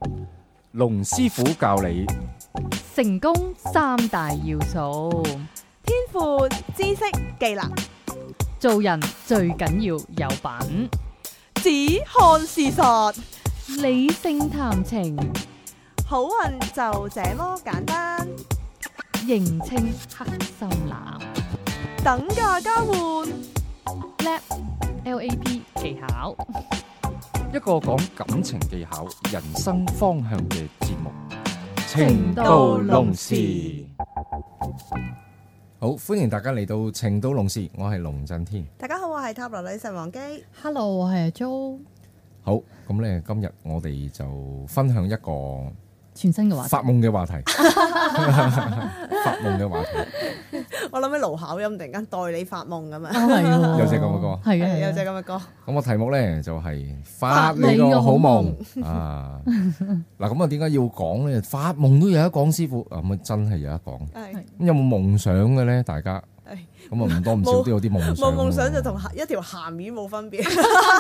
龍師傅教你成功三大要素： 天賦、知識、技能。 做人最緊要有品， 只看事實， 理性談情， 好運就這麼簡單。 認清黑心男， 等價交換 ，LAP 技巧， 一個講感情技巧、人生方向嘅節目。 情到濃時，好歡迎大家嚟到情到濃時，我係龍震天。 大家好，我係塔羅女神王姬。 Hello， 我係阿 Jo。 好，咁咧今日我哋就分享一個全新嘅話題， 發夢嘅話題。發夢嘅話題， 我諗起盧巧音突然間代你發夢咁樣。 係喎， 有隻咁嘅歌， 係啊， 有隻咁嘅歌。 咁個題目咧就係發你個好夢啊！嗱，咁啊點解要講咧？發夢都有得講，師傅咁啊真係有得講。 係咁有冇夢想嘅咧？大家咁啊唔多唔少都有啲夢想。 冇夢想就同一條鹹魚冇分別。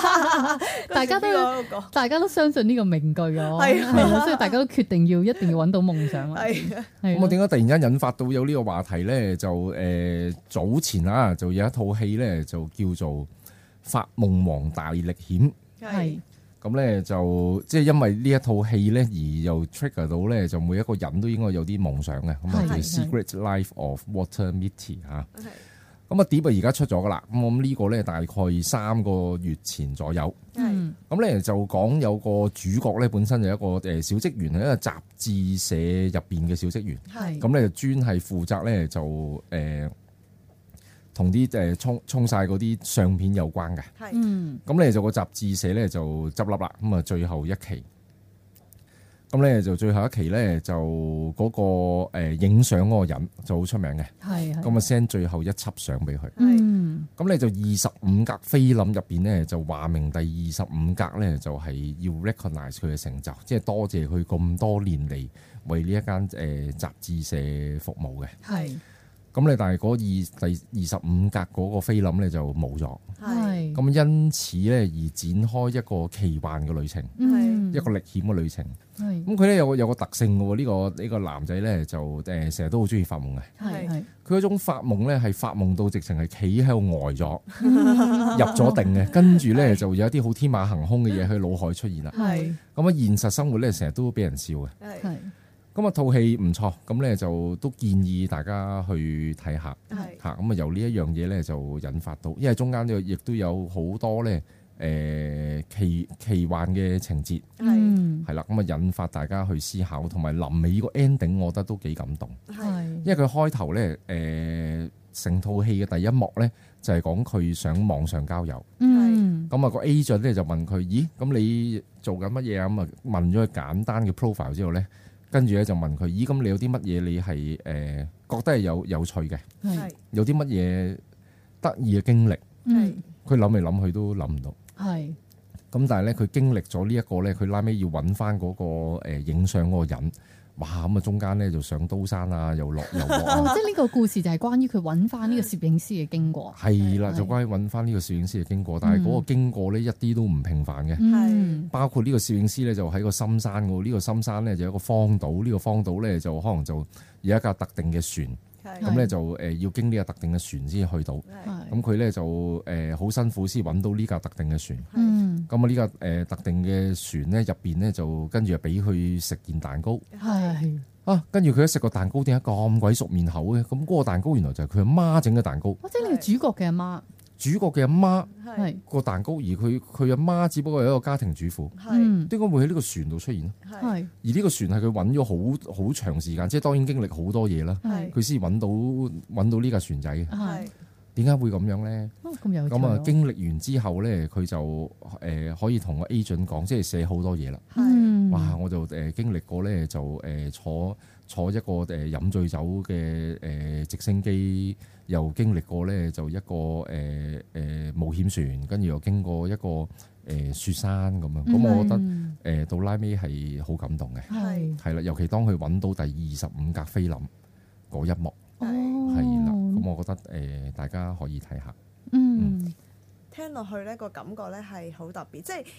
大家都相信呢個名句啊， 係啊，所以大家都決定一定要揾到夢想啦。 係啊， 咁我點解突然間引發到有呢個話題咧？就早前啊，就有一套戲咧，就叫做《發夢王大歷險》。 係咁咧就即係因為呢一套戲咧，而又 trigger 到咧，就每一個人都應該有啲夢想嘅。咁啊叫《Secret Life of Walter Mitty》嚇。咁啊碟啊而家出咗噶啦。咁我諗呢個咧大概3個月前左右。咁咧就講有個主角咧本身就一個小職員，係一個雜誌社入邊嘅小職員。咁咧就專係負責咧就同啲沖晒嗰啲相片有關嘅。咁咧就個雜誌社咧就執笠啦。咁啊最後一期。咁咧就最後一期咧就嗰個影相嗰個人就好出名嘅。咁啊 send 最後一輯相俾佢。咁咧就25格菲林入邊咧就話明第25格咧就係要 recognize 佢嘅成就，即係多謝佢咁多年嚟為呢一間雜誌社服務嘅。咁咧但係嗰第25格嗰個菲林咧就冇咗。咁因此咧而展開一個奇幻嘅旅程，一個歷險嘅旅程。咁佢咧有個特性嘅喎，呢個男仔咧就成日都好中意發夢嘅。佢嗰種發夢咧係發夢到直情係企喺度呆咗，入咗定嘅，跟住咧就有一啲好天馬行空嘅嘢喺腦海出現啦。咁啊現實生活咧成日都俾人笑嘅。咁啊套戲唔錯，咁咧就都建議大家去睇下。嚇咁啊由呢一樣嘢咧就引發到，因為中間亦都有好多咧奇幻嘅情節。係啦，咁啊引發大家去思考，同埋臨尾個 ending 我覺得都幾感動。因為佢開頭咧成套戲嘅第一幕咧就係講佢想網上交友。咁啊個 agent 咧就問佢：咦，咁你做緊乜嘢啊？咁啊問咗佢簡單嘅 profile 之後咧，跟住咧就問佢：咦，咁你有啲乜嘢你係覺得係有趣嘅？有啲乜嘢得意嘅經歷？佢諗嚟諗去都諗唔到。咁但係咧，佢經歷咗呢一個咧，佢拉尾要揾翻嗰個影相嗰個人。哇！咁啊中間咧就上刀山啊，又落又落。 即係呢個故事就係關於佢揾翻呢個攝影師嘅經過。 係啦，就關於揾翻呢個攝影師嘅經過，但係嗰個經過咧一啲都唔平凡嘅。包括呢個攝影師咧就喺個深山嗰，呢個深山咧就有一個荒島，呢個荒島咧就可能就有一架特定嘅船。咁咧就要經呢個特定嘅船先去到。咁佢咧就好辛苦先揾到呢架特定嘅船。咁啊呢架特定嘅船咧入邊咧就跟住就俾佢食件蛋糕。跟住佢一食個蛋糕，點解咁鬼熟面口嘅？咁嗰個蛋糕原來就係佢阿媽整嘅蛋糕。 即係呢個主角嘅阿媽。 主角嘅阿媽個蛋糕，而佢阿媽只不過係一個家庭主婦。點解會喺呢個船度出現呢？而呢個船係佢揾咗好長時間，即係當然經歷好多嘢啦。佢先揾到呢架船仔嘅。點解會咁樣咧？咁啊經歷完之後咧，佢就可以同個 agent 講，即係寫好多嘢啦。哇！我就經歷過咧，就坐一個飲醉酒嘅直升機，又經歷過咧就一個冒險船，跟住又經過一個雪山咁樣。咁我覺得到拉尾係好感動嘅。係啦，尤其當佢揾到第25格菲林嗰一幕。係啦，咁我覺得大家可以睇下。 聽落去呢個感覺咧係好特別，即係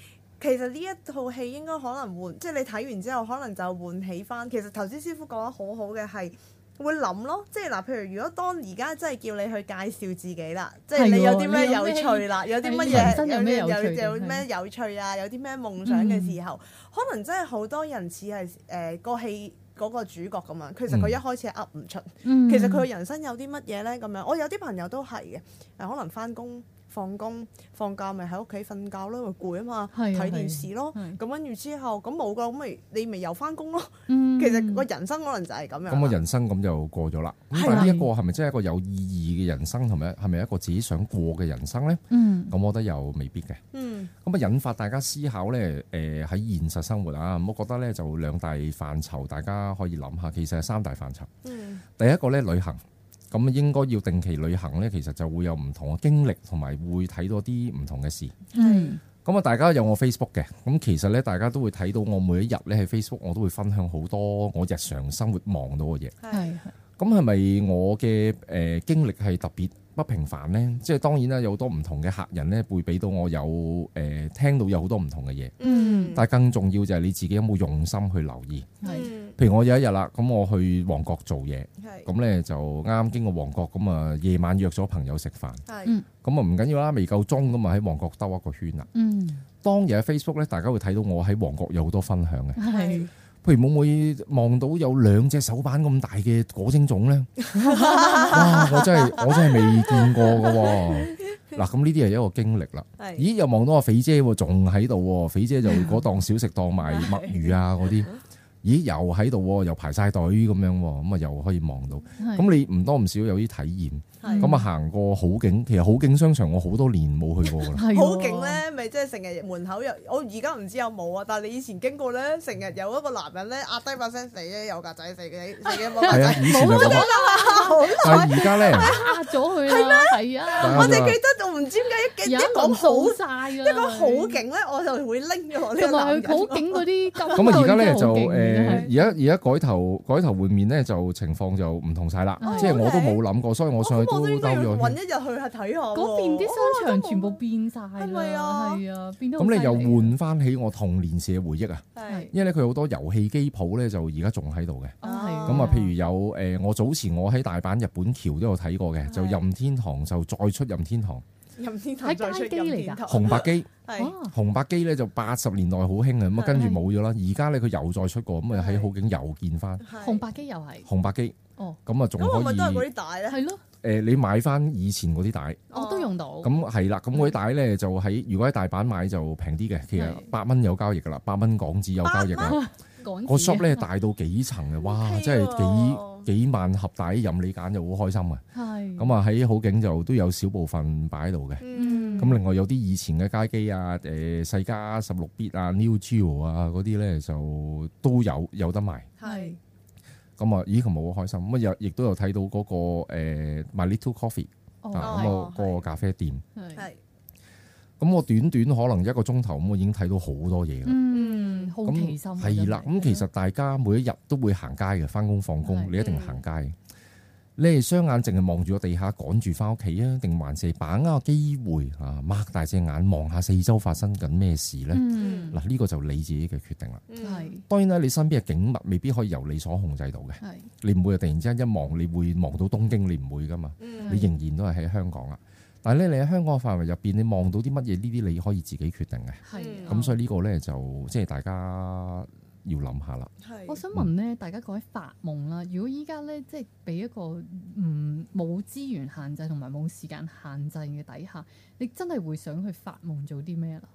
其實呢一套戲應該可能換，即係你睇完之後可能就喚起翻。其實頭先師傅講得好好嘅係會諗咯，即係嗱，譬如如果當而家真係叫你去介紹自己啦，即係你有啲咩有趣啦，有啲乜嘢有咩有趣啊，有啲咩夢想嘅時候，可能真係好多人似係個戲嗰個主角咁樣。其實佢一開始係噏唔出，其實佢人生有啲乜嘢咧咁樣。我有啲朋友都係嘅，可能翻工。放工放假咪喺屋企瞓覺咯，因為攰啊嘛，睇電視咯。咁跟住之後咁冇噶，咁你咪又翻工咯。其實個人生可能就係咁樣。咁個人生咁就過咗啦。咁但係呢一個係咪真係一個有意義嘅人生，同埋係咪一個自己想過嘅人生咧？咁我覺得又未必嘅。咁啊引發大家思考咧，喺現實生活啊，我覺得咧就兩大範疇，大家可以諗下。其實係三大範疇。第一個咧旅行。咁應該要定期旅行咧，其實就會有唔同嘅經歷，同埋會睇到啲唔同嘅事。咁啊，大家有我 Facebook 嘅，咁其實咧，大家都會睇到我每一日咧喺 Facebook，我都會分享好多我日常生活望到嘅嘢。咁係咪我嘅經歷係特別不平凡咧？即係當然啦，有好多唔同嘅客人咧，會俾到我有聽到有好多唔同嘅嘢。但係更重要就係你自己有冇用心去留意。譬如我有一日啦，咁我去旺角做嘢，咁咧就啱啱經過旺角，咁啊夜晚約咗朋友食飯，咁啊唔緊要啦，未夠鐘咁啊喺旺角兜一個圈啦。當日喺 Facebook 咧，大家會睇到我喺旺角有好多分享嘅，譬如會唔會望到有2隻手板咁大嘅果蒸粽咧？哇！我真係未見過㗎喎。嗱，咁呢啲係一個經歷啦。咦？又望到阿肥姐喎，仲喺度喎。肥姐就嗰檔小食檔賣墨魚啊嗰啲。咦，又喺度喎，又排晒隊咁樣喎，咁啊又可以望到。咁你唔多唔少有啲體驗。咁啊行過好景，其實好景商場我好多年冇去過㗎啦。好景咧，咪即係成日門口有，我而家唔知有冇啊。但係你以前經過咧，成日有一個男人咧壓低把聲死咧，有格仔死嘅冇格仔。以前就咁啊。但係而家咧壓咗佢啦。係啊。我哋記得我唔知點解一講好一講好景咧，我就會拎咗呢個男人。好景嗰啲咁啊，而家咧就而家改頭換面咧，就情況就唔同晒啦。即係我都冇諗過，所以我上去都兜咗。揾一日去下睇下。嗰邊啲商場全部變晒啦，係啊，變到咁你又換翻起我童年時嘅回憶啊！因為咧佢好多遊戲機鋪咧，就而家仲喺度嘅。咁啊，譬如有我早前我喺大阪日本橋都有睇過嘅，就任天堂就再出任天堂。任天堂再出任天堂。紅白機。紅白機咧就80年代好興嘅，咁啊跟住冇咗啦。而家咧佢又再出過，咁啊喺好景又見翻。紅白機又係。紅白機。咁啊仲可以。咁咪都係嗰啲帶咧？係咯。你買翻以前嗰啲帶，我都用到。咁係啦，咁嗰啲帶咧就如果喺大阪買就平啲嘅，其實8蚊有交易噶啦，8蚊港紙有交易啦。個 shop 咧大到幾層嘅，哇！真係幾萬盒帶任你揀，就好開心嘅。係。咁啊喺好景就都有少部分擺喺度嘅。咁另外有啲以前嘅街機啊，世嘉16 bit 啊 ，Neo Geo 啊嗰啲咧就都有得賣。係。咁啊，咦，佢冇好開心。咁啊，亦都有睇到嗰個My Little Coffee 咁個咖啡店。係。咁我短可能1個鐘頭，咁我已經睇到好多嘢啦。好奇心。係啦，咁其實大家每一日都會行街嘅，翻工放工，你一定行街。你係雙眼淨係望住個地下趕住翻屋企啊，定還是把握個機會啊，擘大隻眼望下四周發生緊咩事咧？嗱，呢個就你自己嘅決定啦。係。當然啦，你身邊嘅景物未必可以由你所控制到嘅。係。你唔會突然之間一望，你會望到東京，你唔會噶嘛。你仍然都係喺香港啦。但係咧，你喺香港嘅範圍入邊，你望到啲乜嘢？呢啲你可以自己決定嘅。係。咁所以呢個咧就即係大家要諗下啦。我想問咧，大家講起發夢啦，如果依家咧即係俾一個冇資源限制同埋冇時間限制嘅底下，你真係會想去發夢做啲咩啦？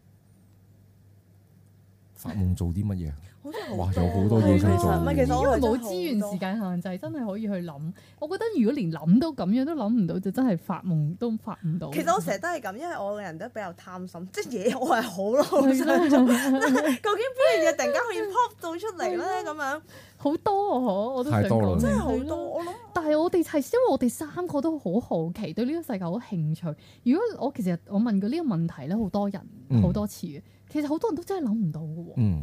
發夢做啲乜嘢？哇，有好多嘢想做。因為冇資源時間限制，真係可以去諗。我覺得如果連諗都咁樣都諗唔到，就真係發夢都發唔到。其實我成日都係咁，因為我個人都比較貪心，即係嘢我係好咯，想做。究竟邊樣嘢突然間可以 pop 到出嚟咧？咁樣好多啊！我都想講，真係好多。我諗，但係我哋係因為我哋3個都好好奇，對呢個世界好興趣。如果其實我問過呢個問題咧，好多人好多次嘅，其實好多人都真係諗唔到嘅喎。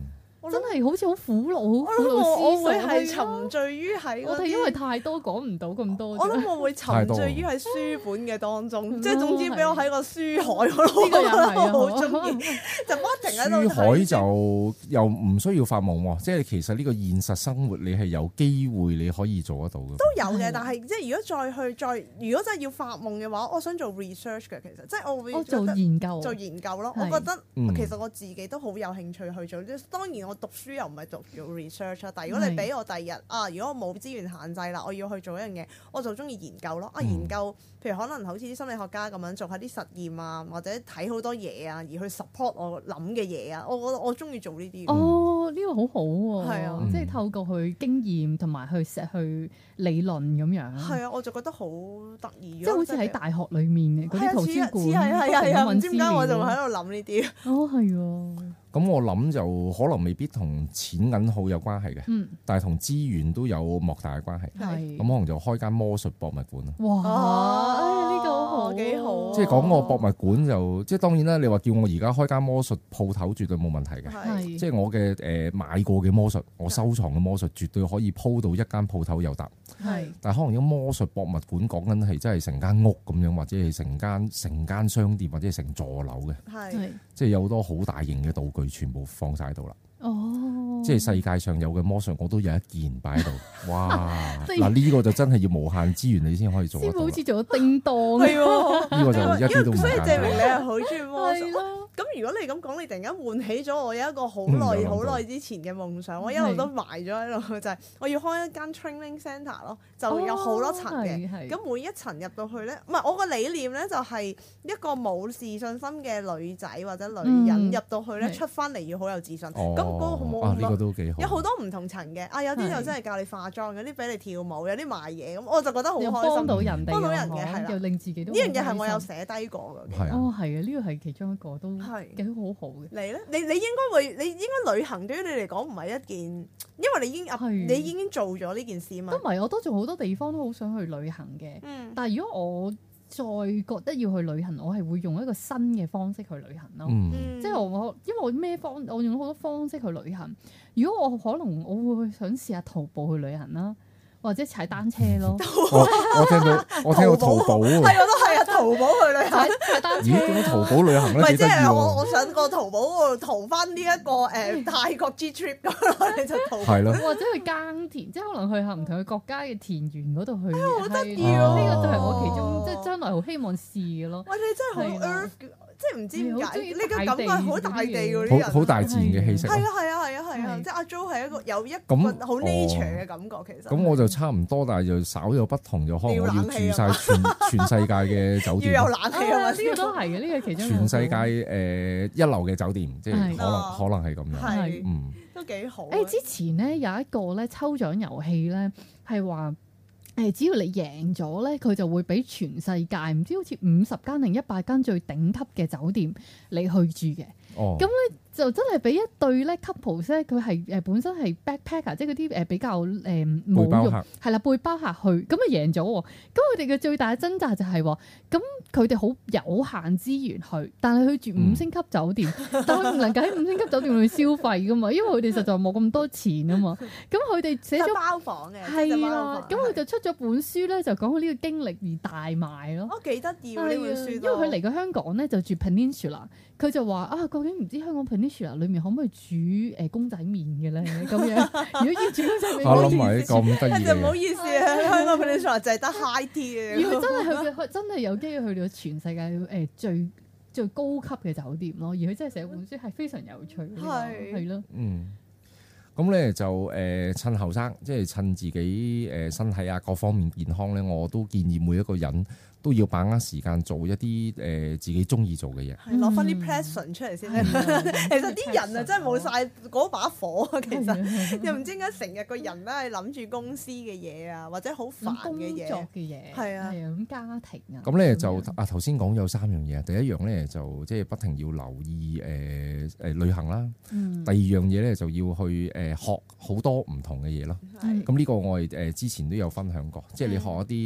真係好似好苦惱，好苦惱我會係沉醉於喺我哋因為太多講唔到咁多。 我諗我會沉醉於喺書本嘅當中，即係總之俾我喺個書海嗰度， 呢個又係好中意，就不停喺度睇。 書海就又唔需要發夢喎，即係其實呢個現實生活你係有機會你可以做得到嘅。 都有嘅，但係即係如果如果真係要發夢嘅話，我想做 research 嘅，其實即係我會做研究咯。我覺得其實我自己都好有興趣去做。當然我讀書又唔係做 research 啦，但係如果你俾我第二日如果我冇資源限制啦，我要去做一樣嘢，我就中意研究咯。研究譬如可能好似啲心理學家咁樣做下啲實驗啊，或者睇好多嘢啊，而去 support 我諗嘅嘢啊，我覺得我中意做呢啲。 呢個好好喎，係啊，即係透過佢經驗同埋去理論咁樣。係啊，我就覺得好得意， 即係好似喺大學裡面嘅嗰啲圖書館， 係唔知點解我就喺度諗呢啲。 係喎。 咁我諗就可能未必同錢銀好有關係嘅，但係同資源都有莫大嘅關係。咁可能就開間魔術博物館咯。 哇！呢個好幾好。 即係講個博物館就即係當然啦。你話叫我而家開間魔術鋪頭，絕對冇問題嘅。即係我嘅買過嘅魔術，我收藏嘅魔術，絕對可以鋪到一間鋪頭有得。但係可能有魔術博物館講緊係真係成間屋咁樣，或者係成間商店，或者係成座樓嘅。即係有好多好大型嘅道具。全部放晒喺度啦，即係世界上有嘅魔術，我都有一件擺喺度。哇！嗱呢個就真係要無限資源，你先可以做得到。 好似做咗叮當， 呢個就一啲都唔簡單。 所以證明你係好中意魔術。咁如果你咁講，你突然間喚起咗我有一個好耐之前嘅夢想，我一路都埋咗喺度，就係我要開一間 training centre 咯，就有好多層嘅。咁每一層入到去咧，唔係我個理念咧，就係一個冇自信心嘅女仔或者女人入到去咧，出翻嚟要好有自信。咁嗰個冇呢個都幾好。 有好多唔同層嘅，有啲就真係教你化妝，有啲俾你跳舞，有啲賣嘢，咁我就覺得好開心。幫到人嘅係啦， 又令自己都呢樣嘢係我有寫低過嘅。 係啊， 係啊，呢個係其中一個都幾好。 你咧？你應該旅行對於你嚟講唔係一件，因為你已經做咗呢件事嘛。 都唔係，我都仲好多地方都好想去旅行嘅。但係如果我再覺得要去旅行，我係會用一個新嘅方式去旅行咯。即係因為我用好多方式去旅行。如果我可能我會想試下徒步去旅行啦。或者踩單車咯， 我聽到淘寶喎， 係我都係啊，淘寶去旅行， 踩單車。 咦？點解淘寶旅行咧？ 唔係即係我上個淘寶嗰度淘翻呢一個泰國 G trip 咁咯，你就淘。係咯。或者去耕田，即係可能去下唔同嘅國家嘅田園嗰度去。 好得意啊！ 呢個就係我其中即係將來好希望試嘅咯。 喂，你真係好 earth，即係唔知點解呢個感覺好大地嗰啲人， 好大自然嘅氣息。 係啊，即係阿 Jo 係一個有一個好 nature 嘅感覺，其實。 咁我就差唔多，但係就稍有不同，就可能我要住晒全世界嘅酒店。 要有冷氣啊嘛， 呢個都係嘅，呢個其中。 全世界一流嘅酒店，即係可能係咁樣。 係，都幾好。 之前咧有一個咧抽獎遊戲咧，係話只要你贏咗咧，佢就會俾全世界唔知好似50間定100間最頂級嘅酒店你去住嘅。咁咧就真係俾一對咧 couple 咧，佢係本身係 backpacker，即係嗰啲比較冇用係啦，背包客去，咁啊贏咗喎。咁佢哋嘅最大嘅掙扎就係話，咁佢哋好有限資源去，但係去住5星級酒店，但係唔能夠喺5星級酒店去消費噶嘛，因為佢哋實在冇咁多錢啊嘛。咁佢哋寫咗包房嘅， 係啦。咁佢就出咗本書咧，就講佢呢個經歷而大賣咯。 幾得意喎呢本書，因為佢嚟過香港咧就住 Peninsula，佢就話究竟唔知香港 Peninsula 裏面可唔可以煮公仔麵嘅咧？咁樣如果要煮公仔麵， 我諗埋咁得意嘅，唔好意思啊，香港 Peninsula 就係得 high tea 嘅。 如果真係佢真係有機會去到全世界最高級嘅酒店咯，而佢真係寫本書係非常有趣，係咯。 咁咧就趁後生，即係趁自己身體啊各方面健康咧，我都建議每一個人都要把握時間做一啲自己中意做嘅嘢， 攞翻啲 passion 出嚟先。其實啲人啊真係冇晒嗰把火啊，其實又唔知點解成日個人都係諗住公司嘅嘢啊，或者好煩嘅嘢， 工作嘅嘢係啊，咁家庭啊。 咁咧就頭先講有3樣嘢，第一樣咧就即係不停要留意旅行啦。第二樣嘢咧就要去學好多唔同嘅嘢咯。咁呢個我哋之前都有分享過，即係你學一啲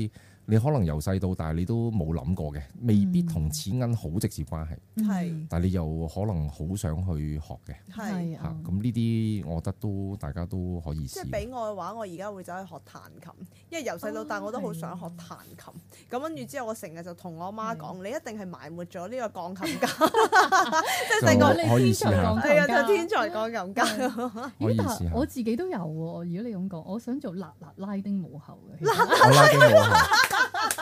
你可能由細到大你都冇諗過嘅，未必同錢銀好直接關係，但係你又可能好想去學嘅， 係嚇咁呢啲，我覺得大家都可以試。 即係俾我嘅話，我而家會走去學彈琴，因為由細到大我都好想學彈琴。咁跟住之後，我成日就同我媽講：你一定係埋沒咗呢個鋼琴家，即係細個可以試下， 係啊，就天才鋼琴家。 可以試下。 我自己都有喎，如果你咁講，我想做辣拉丁舞後嘅。 拉丁舞後。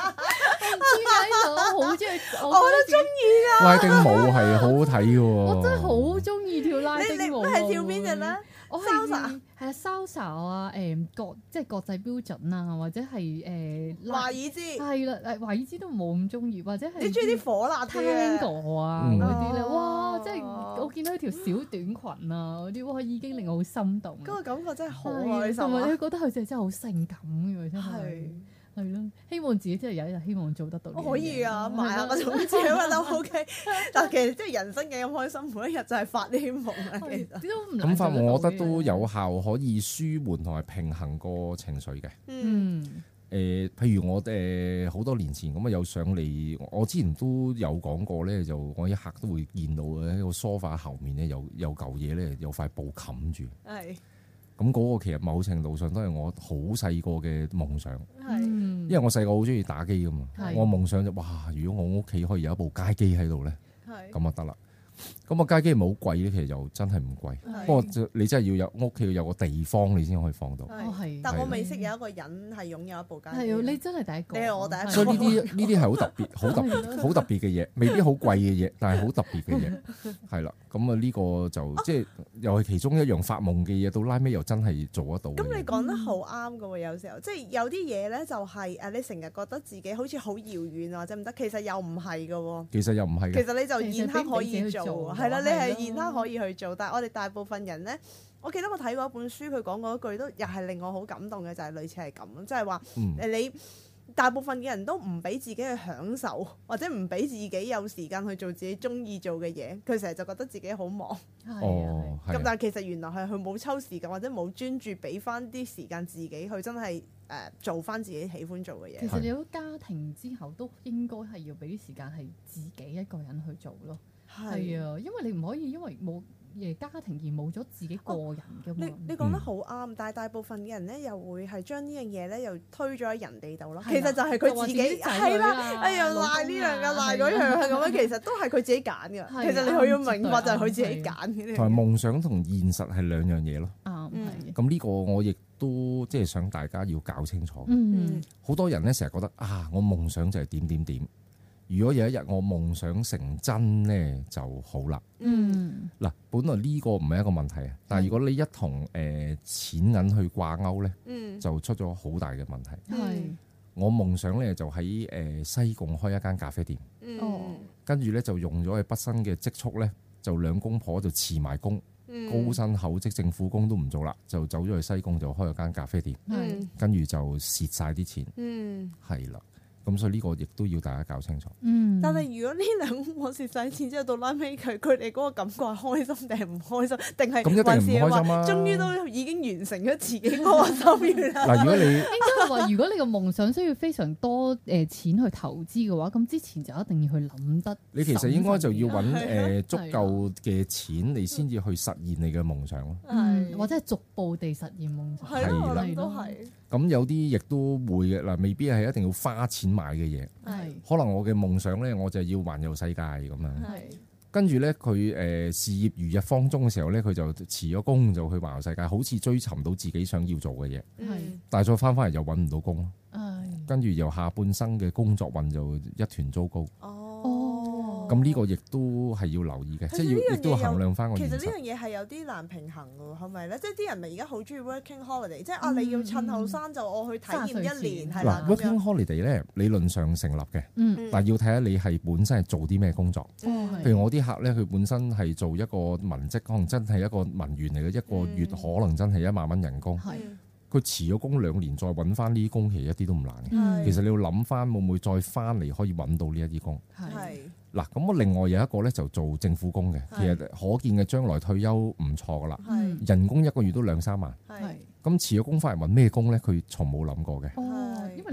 我好中意， 我都中意㗎。 拉丁舞係好好睇嘅喎。 我真係好中意跳拉丁舞。 你係跳邊隻咧？ 我係salsa 啊，即係國際標準啊，或者係華爾茲。 係啦，華爾茲都冇咁中意，或者係你中意啲火辣啲嘅 Tango啊嗰啲咧，哇！即係我見到條小短裙啊嗰啲，哇已經令我好心動。 嗰個感覺真係好開心， 同埋你覺得佢真係好性感嘅，真係。係咯，希望自己真係有一日希望做得到。 可以啊，買下個種子咁都 OK。但其實即係人生幾咁開心，每一日就係發呢啲夢啊。其實咁發夢，我覺得都有效，可以舒緩同埋平衡個情緒嘅。譬如我好多年前咁啊，有上嚟，我之前都有講過咧，就我一刻都會見到嘅喺個梳化後面咧，有嚿嘢咧，有塊布冚住。係。咁嗰個其實某程度上都係我好細個嘅夢想，因為我細個好中意打機噶嘛，我夢想就哇，如果我屋企可以有一部街機喺度咧，咁就得啦。咁啊街機唔係好貴咧，其實又真係唔貴。不過你真係要有屋企要有個地方，你先可以放到。 但我未識有一個人係擁有一部街機。 係你真係第一個。 你係我第一個。 所以呢啲係好特別、好特別嘅嘢，未必好貴嘅嘢，但係好特別嘅嘢。係啦，咁啊呢個就即係又係其中一樣發夢嘅嘢，到拉尾又真係做得到。 咁你講得好啱㗎喎，有時候即係有啲嘢咧，就係你成日覺得自己好似好遙遠或者唔得，其實又唔係㗎喎。 其實又唔係嘅。 其實你就現刻可以做。係啦，你係現刻可以去做，但係我哋大部分人咧，我記得我睇過一本書，佢講過一句都又係令我好感動嘅，就係類似係咁，即係話你大部分嘅人都唔俾自己去享受，或者唔俾自己有時間去做自己中意做嘅嘢，佢成日就覺得自己好忙。咁但係其實原來係佢冇抽時間或者冇專注俾翻啲時間自己去真係做翻自己喜歡做嘅嘢。 其實你有家庭之後都應該係要俾啲時間係自己一個人去做咯。係啊，因為你唔可以因為冇家庭而冇咗自己個人嘅嘛。 你講得好啱，但係大部分嘅人咧又會係將呢樣嘢咧又推咗喺人哋度咯。其實就係佢自己係啦，哎呀賴呢樣嘅賴嗰樣係咁樣，其實都係佢自己揀嘅。其實你佢要明白就係佢自己揀嘅。 同埋夢想同現實係兩樣嘢咯。咁呢個我亦都即係想大家要搞清楚。好多人咧成日覺得我夢想就係點點點。如果有一日我夢想成真咧就好啦。嗱，本來呢個唔係一個問題啊，但係如果你一同錢銀去掛鈎咧，就出咗好大嘅問題。我夢想咧就喺西貢開一間咖啡店，跟住咧就用咗佢畢生嘅積蓄咧，就兩公婆就辭埋工，高薪厚職政府工都唔做啦，就走咗去西貢就開咗間咖啡店，跟住就蝕晒啲錢，係啦。咁所以呢個亦都要大家搞清楚。 但係如果呢兩個蝕晒錢之後到拉尾佢哋嗰個感覺係開心定係唔開心，定係還是話終於都已經完成咗自己嗰個心願啦？ 嗱，如果你應該話，如果你個夢想需要非常多錢去投資嘅話，咁之前就一定要去諗得。你其實應該就要揾足夠嘅錢，你先至去實現你嘅夢想咯。 或者係逐步地實現夢想。 係咯，我諗都係。 咁有啲亦都會嘅嗱，未必係一定要花錢買嘅嘢。可能我嘅夢想咧，我就要環遊世界咁樣。跟住咧，佢事業如日方中嘅時候咧，佢就辭咗工就去環遊世界，好似追尋到自己想要做嘅嘢。但係再翻返嚟又揾唔到工咯。跟住由下半生嘅工作運就一團糟糕。咁呢個亦都係要留意嘅，即係亦都衡量翻個現實。 其實呢樣嘢係有啲難平衡嘅，係咪咧？即係啲人咪而家好中意 working holiday，即係你要趁後生就我去體驗一年係啦。 working holiday 咧理論上成立嘅，但係要睇下你係本身係做啲咩工作。譬如我啲客咧，佢本身係做一個文職，可能真係一個文員嚟嘅，一個月可能真係1萬蚊人工。佢辭咗工2年再揾翻呢啲工，其實一啲都唔難嘅。其實你要諗翻會唔會再翻嚟可以揾到呢一啲工。嗱，咁我另外有一個咧就做政府工嘅，其實可見嘅將來退休唔錯噶啦，人工1個月都2-3萬。咁辭咗工翻嚟揾咩工咧？佢從冇諗過嘅。 因為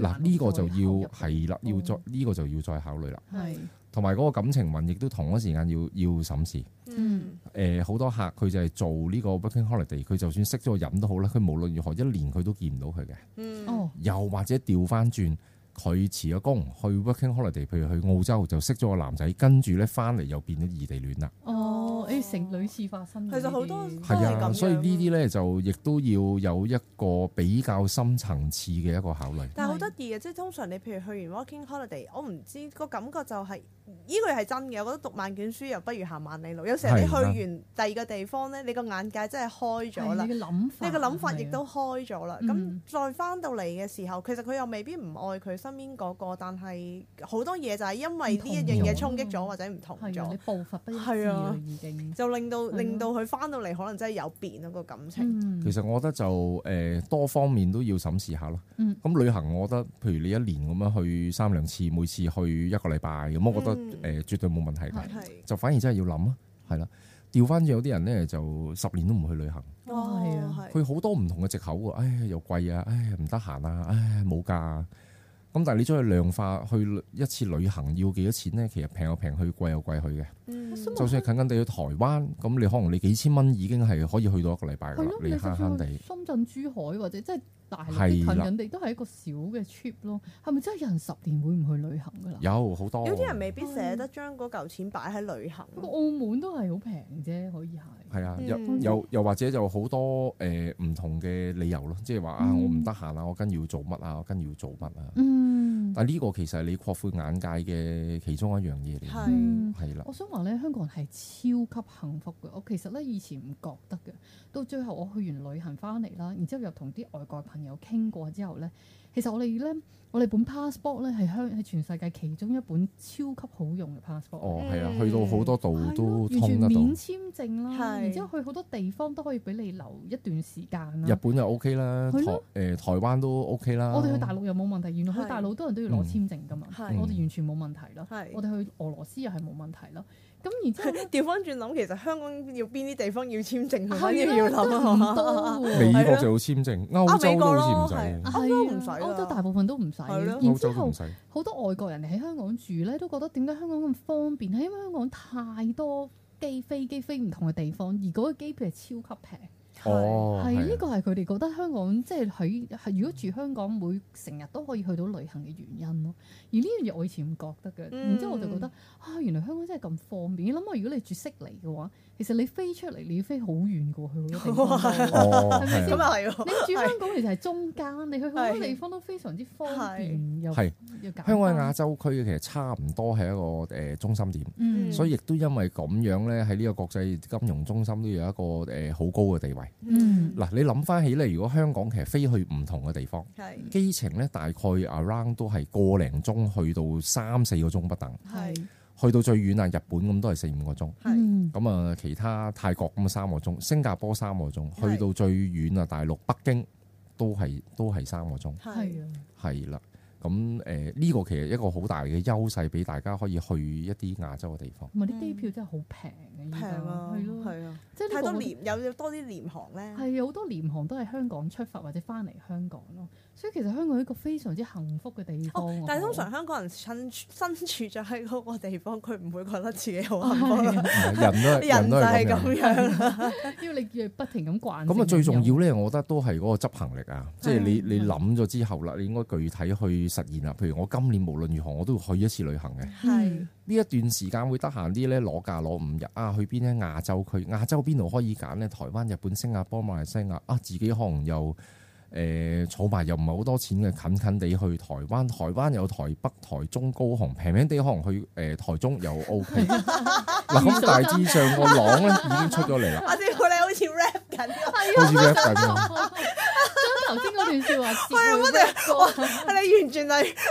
嗱呢個就要係啦，要再呢個就要再考慮啦。 係。 同埋嗰個感情運亦都同一時間要審視。好多客佢就係做呢個 working holiday，佢就算識咗個人都好啦，佢無論如何一年佢都見唔到佢嘅。又或者調翻轉，佢辭咗工去 working holiday，譬如去澳洲就識咗個男仔，跟住咧翻嚟又變咗異地戀啦。 成屢次發生。 其實好多係啊，所以呢啲咧就亦都要有一個比較深層次嘅一個考慮。 但係好得意嘅，即係通常你譬如去完 working holiday，我唔知個感覺就係呢個係真嘅。我覺得讀萬卷書又不如行萬里路。有時候你去完第二個地方咧，你個眼界真係開咗啦。你嘅諗法亦都開咗啦。咁再翻到嚟嘅時候，其實佢又未必唔愛佢身邊嗰個，但係好多嘢就係因為呢一樣嘢衝擊咗或者唔同咗。你步伐不一致啦，已經。就令到佢翻到嚟可能真係有變咯個感情。 其實我覺得就多方面都要審視下咯。咁旅行我覺得，譬如你一年咁樣去3-2次，每次去1個禮拜咁，我覺得絕對冇問題嘅。就反而真係要諗咯，係啦。調翻轉有啲人咧就10年都唔去旅行。佢好多唔同嘅藉口喎，又貴啊，唔得閒啊，冇假。咁但係你將佢量化去一次旅行要幾多錢咧？其實平有平去，貴有貴去嘅。就算係近近地去台灣，咁你可能你幾千蚊已經係可以去到1個禮拜㗎啦。你慳慳地。 深圳、珠海或者即係大陸近人哋都係一個小嘅 trip 咯。係咪真係有人10年會唔去旅行㗎啦？ 有好多。 有啲人未必捨得將嗰嚿錢擺喺旅行。 澳門都係好平啫，可以係。 係啊，又或者就好多唔同嘅理由咯，即係話我唔得閒啊，我跟住要做乜啊，我跟住要做乜啊。但係呢個其實係你擴闊眼界嘅其中一樣嘢嚟。係啦。我想話咧，香港人係超級幸福嘅。我其實咧以前唔覺得嘅，到最後我去完旅行翻嚟啦，然之後又同啲外國朋友傾過之後咧，其實我哋本 passport 咧係全世界其中一本超級好用嘅 passport。 係啊，去到好多度都通得到。 完全免簽證啦，然之後去好多地方都可以俾你留一段時間啦。 日本又 OK 啦，台灣都 OK 啦。 我哋去大陸又冇問題，原來去大陸多人都要攞簽證㗎嘛，我哋完全冇問題啦。我哋去俄羅斯又係冇問題啦。咁然之後調翻轉諗，其實香港要邊啲地方要簽證，反而要諗多。 美國就要簽證，歐洲都好似唔使。 歐洲唔使， 歐洲大部分都唔使。然之後好多外國人嚟喺香港住咧，都覺得點解香港咁方便？係因為香港太多飛機飛唔同嘅地方，而嗰個機票係超級平。呢個係佢哋覺得香港即係如果住香港會成日都可以去到旅行嘅原因咯。而呢樣嘢我以前唔覺得嘅，然之後我就覺得原來香港真係咁方便。你諗下，如果你住悉尼嘅話，其實你飛出嚟你要飛好遠過去好多地方，係咪先？你住香港其實係中間，你去好多地方都非常之方便又香港喺亞洲區其實差唔多係一個中心點，所以亦都因為咁樣咧，喺呢個國際金融中心都有一個好高嘅地位。嗱，你諗翻起咧，如果香港其實飛去唔同嘅地方，機程咧大概 around 都係個零鐘去到3-4個鐘不等。去到最遠啊，日本咁都係4-5個鐘。咁啊，其他泰國咁3個鐘，新加坡3個鐘，去到最遠啊，大陸北京都係3個鐘。係啦。咁呢個其實一個好大嘅優勢，俾大家可以去一啲亞洲嘅地方。 同埋啲機票真係好平嘅， 平啊，係啊，即係太多有多啲廉航咧。係好多廉航都係香港出發或者翻嚟香港咯，所以其實香港係一個非常之幸福嘅地方。但係通常香港人身處咗喺嗰個地方，佢唔會覺得自己好幸福。人就係咁樣，因為你要不停咁慣。 咁啊，最重要咧，我覺得都係嗰個執行力啊，即係你諗咗之後啦，你應該具體去實現啦。譬如我今年無論如何，我都要去一次旅行嘅。呢一段時間會得閒啲咧，攞假攞5日啊，去邊咧？亞洲區，亞洲邊度可以揀咧？台灣、日本、新加坡、馬來西亞啊，自己可能又儲埋又唔係好多錢嘅，近近地去台灣。台灣有台北、台中、高雄，平平地可能去台中又 OK。嗱，咁大致上個朗咧已經出咗嚟啦。阿師傅你好似 rap 緊，好似 rap 緊。 頭先嗰段説話， 你完全係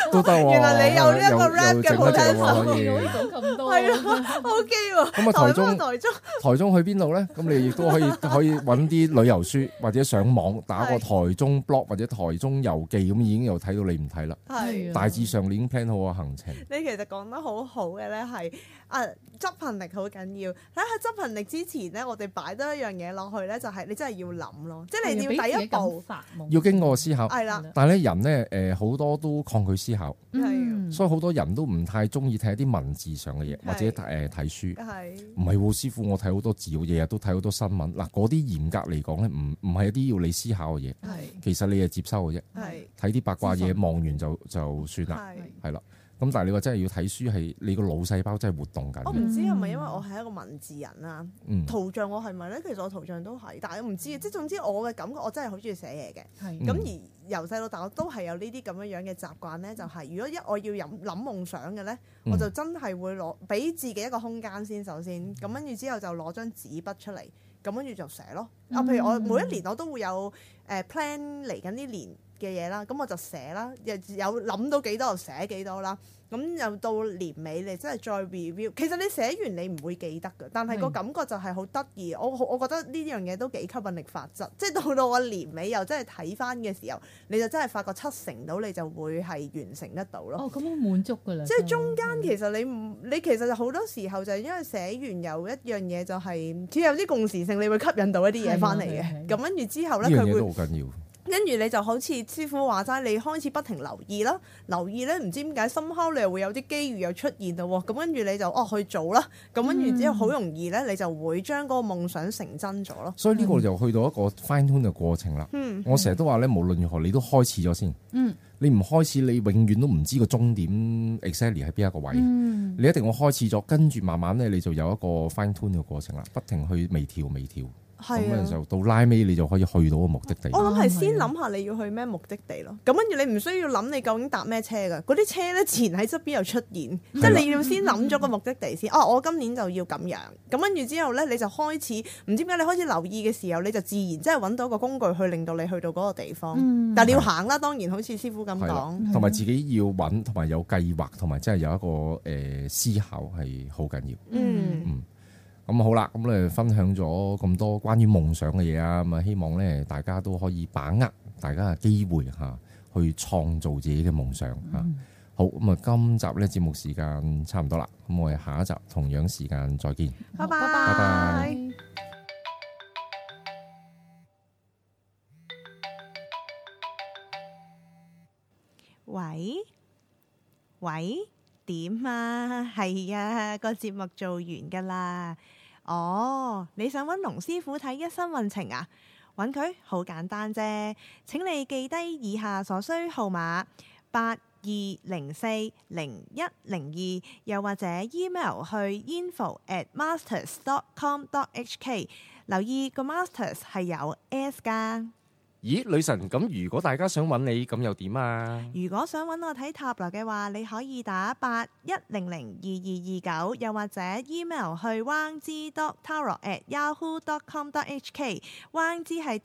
都得喎。 原來你有呢一個 rap 嘅 potential 可以講咁多， 係啊 OK 喎。 咁啊，台中去邊度咧？咁你亦都可以揾啲旅遊書，或者上網打個台中 blog 或者台中遊記，咁已經又睇到你唔睇啦。 係大致上你已經 plan 好個行程。 你其實講得好好嘅咧，係執行力好緊要。喺執行力之前咧，我哋擺多一樣嘢落去咧，就係你真係要諗咯，即係你要第一步要經過思考。 係啦， 但係咧人咧好多都抗拒思考，所以好多人都唔太中意睇一啲文字上嘅嘢，或者睇書。唔係喎，師傅，我睇好多字，我日日都睇好多新聞。嗱，嗰啲嚴格嚟講咧，唔係一啲要你思考嘅嘢，其實你係接收嘅啫。睇啲八卦嘢，望完就算啦，係啦。咁但係你話真係要睇書，係你個腦細胞真係活動緊。 我唔知係咪因為我係一個文字人啦，圖像我係咪咧？其實我圖像都係，但係我唔知，即係總之我嘅感覺，我真係好中意寫嘢嘅。咁而由細到大，我都係有呢啲咁樣嘅習慣咧，就係如果我要諗夢想嘅咧，我就真係會俾自己一個空間先，首先咁跟住之後就攞張紙筆出嚟，咁跟住就寫咯。譬如我每一年我都會有plan 嚟緊呢年嘅嘢啦，咁我就寫啦，有諗到幾多就寫幾多啦。咁又到年尾你真係再 review， 其實你寫完你唔會記得㗎，但係個感覺就係好得意。我覺得呢樣嘢都幾吸引力法則，即係到我年尾又真係睇翻嘅時候，你就真係發覺70%到你就會係完成得到咯。 哦，咁好滿足㗎啦！ 即係中間其實你其實好多時候就係因為寫完有一樣嘢就係只有啲共時性，你會吸引到一啲嘢翻嚟嘅。咁跟住之後咧，佢會好緊要。 跟住你就好似師傅話齋，你開始不停留意啦，留意咧唔知點解深刻你又會有啲機遇又出現到喎，咁跟住你就去做啦，咁跟住之後好容易咧，你就會將嗰個夢想成真咗咯。所以呢個就去到一個 fine tune 嘅過程啦。我成日都話咧，無論如何你都開始咗先。你唔開始，你永遠都唔知個終點 exactly 喺邊一個位。你一定會開始咗，跟住慢慢咧你就有一個 fine tune 嘅過程啦，不停去微調。咁樣就到拉尾，你就可以去到個目的地。 我諗係先諗下你要去咩目的地咯。咁跟住你唔需要諗你究竟搭咩車㗎，嗰啲車咧自然喺側邊又出現，即係你要先諗咗個目的地先。我今年就要咁樣。咁跟住之後咧，你就開始唔知點解你開始留意嘅時候，你就自然即係揾到個工具去令到你去到嗰個地方。但係你要行啦，當然好似師傅咁講， 同埋自己要揾，同埋有計劃，同埋真係有一個思考係好緊要。咁好啦，咁咧分享咗咁多關於夢想嘅嘢啊，咁啊希望咧大家都可以把握大家嘅機會嚇，去創造自己嘅夢想嚇。好，咁啊今集咧節目時間差唔多啦，咁我哋下一集同樣時間再見。 拜拜。喂？點啊？係啊，個節目做完㗎啦。你想揾龍師傅睇一生運程啊？揾佢好簡單啫。請你記低以下所需號碼：82040102，又或者 email 去 info@masters.com.hk。留意個 masters 係有 S 㗎。 咦，女神，咁如果大家想揾你，咁又點啊？ 如果想揾我睇塔羅嘅話，你可以打81002229，又或者 email 去 wangji.tarot@yahoo.com.hk。wangji 係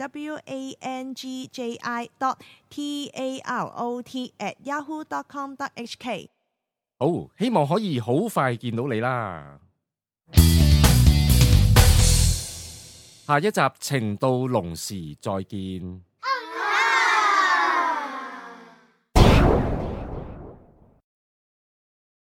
WANGJI.TAROT@yahoo.com.hk。 好，希望可以好快見到你啦！下一集情到濃時再見。